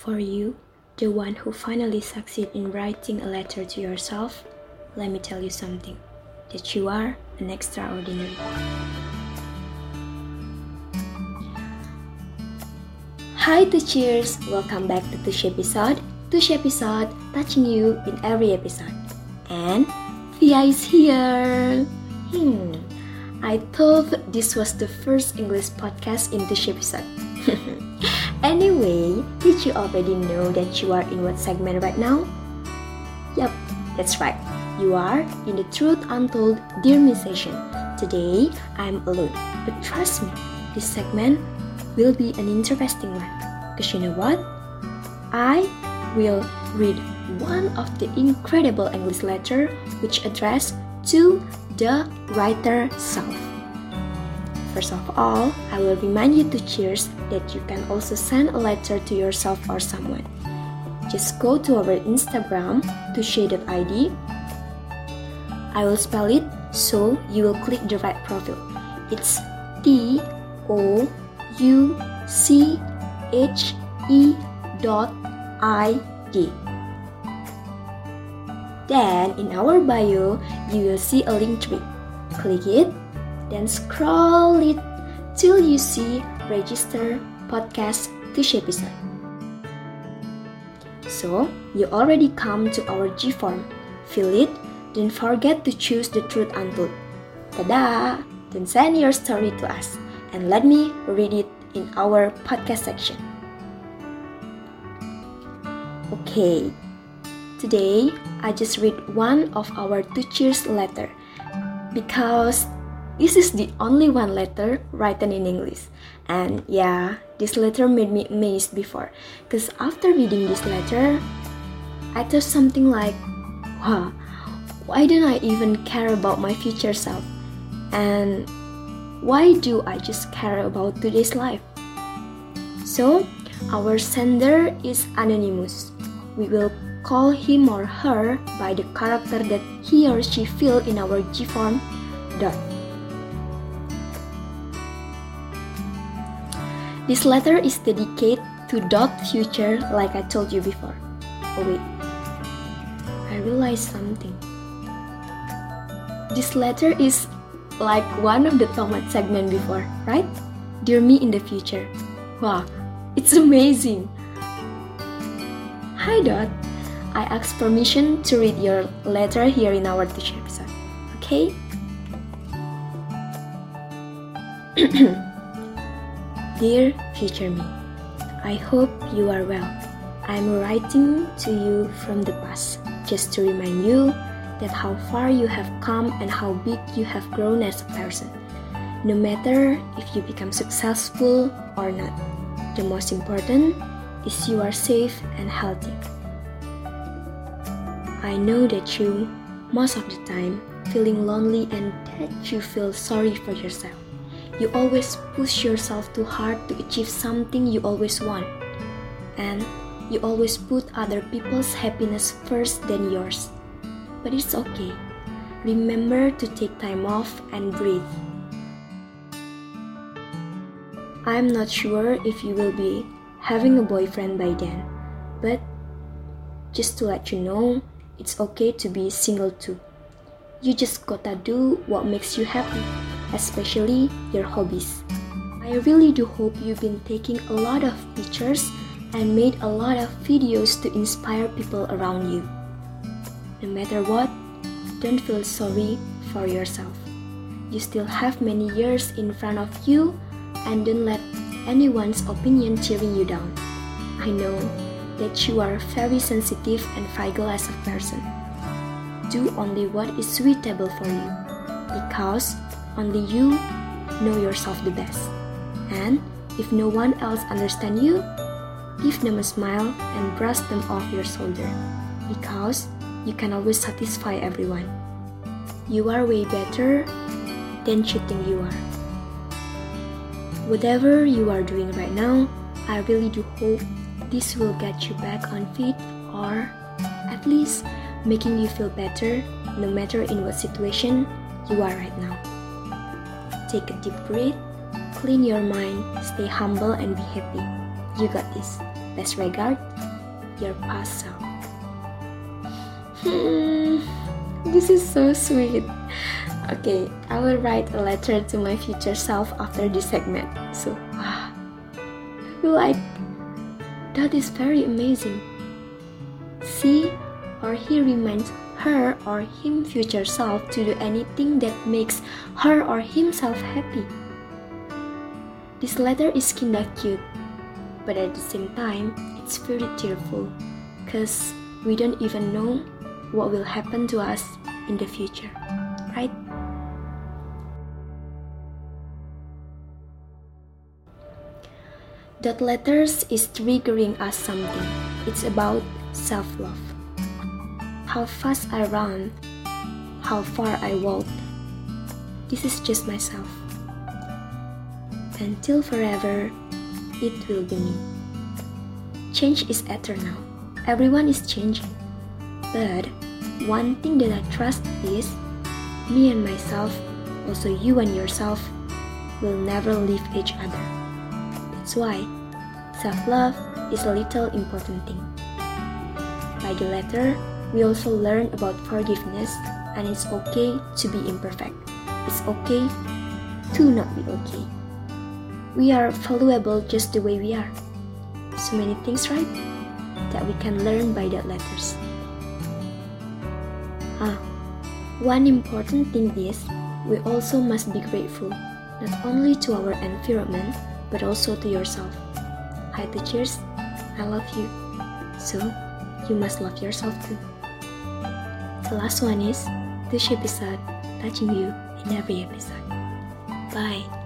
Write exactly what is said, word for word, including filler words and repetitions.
For you, the one who finally succeeded in writing a letter to yourself, let me tell you something, that you are an extraordinary. Hi Tushers, welcome back to Tush episode. Tush episode touching you in every episode. And Via is here. Hmm, I thought this was the first English podcast in Tush episode. Anyway, did you already know that you are in what segment right now? Yup, that's right. You are in the Truth Untold Dear Me session. Today, I'm alone. But trust me, this segment will be an interesting one. Because you know what? I will read one of the incredible English letter which addressed to the writer self. First of all, I will remind you to cheers that you can also send a letter to yourself or someone. Just go to our Instagram, touche dot I D. I will spell it so you will click the right profile. It's T O U C H E dot I D. Then in our bio, you will see a link tree. Click it, then scroll it till you see register podcast Tush episode. So, you already come to our G form. Fill it, don't forget to choose the Truth Untold. Tada! Then send your story to us and let me read it in our podcast section. Okay, today I just read one of our Tushers letter because this is the only one letter written in English. And yeah, this letter made me amazed before. Because after reading this letter, I thought something like, wow, why don't I even care about my future self? And why do I just care about today's life? So, our sender is anonymous. We will call him or her by the character that he or she fill in our G form dot. This letter is dedicated to dot future like I told you before. Oh wait, I realized something. This letter is like one of the Tomat segment before, right? Dear me in the future. Wow, it's amazing. Hi Dot, I ask permission to read your letter here in our Tush episode, okay? Dear future me, I hope you are well. I'm writing to you from the past, just to remind you that how far you have come and how big you have grown as a person. No matter if you become successful or not, the most important is you are safe and healthy. I know that you, most of the time, feeling lonely and that you feel sorry for yourself. You always push yourself too hard to achieve something you always want. And you always put other people's happiness first than yours. But it's okay. Remember to take time off and breathe. I'm not sure if you will be having a boyfriend by then, but just to let you know, it's okay to be single too. You just gotta do what makes you happy, especially your hobbies. I really do hope you've been taking a lot of pictures and made a lot of videos to inspire people around you. No matter what, don't feel sorry for yourself. You still have many years in front of you and don't let anyone's opinion tearing you down. I know that you are very sensitive and fragile as a person. Do only what is suitable for you, because only you know yourself the best. And if no one else understands you, give them a smile and brush them off your shoulder, because you can always satisfy everyone. You are way better than you think you are. Whatever you are doing right now, I really do hope this will get you back on feet, or at least making you feel better no matter in what situation you are right now. Take a deep breath, clean your mind, stay humble and be happy. You got this. Best regard, your past self. Hmm, this is so sweet. Okay, I will write a letter to my future self after this segment. So, wow, I feel like that is very amazing. She or he reminds her or him future self to do anything that makes her or himself happy. This letter is kinda cute, but at the same time, it's very tearful, cause we don't even know what will happen to us in the future, right? That letters is triggering us something. It's about self-love. How fast I run, how far I walk. This is just myself. Until forever, it will be me. Change is eternal. Everyone is changing. But one thing that I trust is me and myself, also you and yourself, will never leave each other. That's why self-love is a little important thing. By the letter, we also learn about forgiveness, and it's okay to be imperfect. It's okay to not be okay. We are valuable just the way we are. So many things, right, that we can learn by that letters. Ah, one important thing is we also must be grateful, not only to our environment, but also to yourself. Hi teachers, I love you. So, you must love yourself too. The last one is, this episode touching you in every episode. Bye.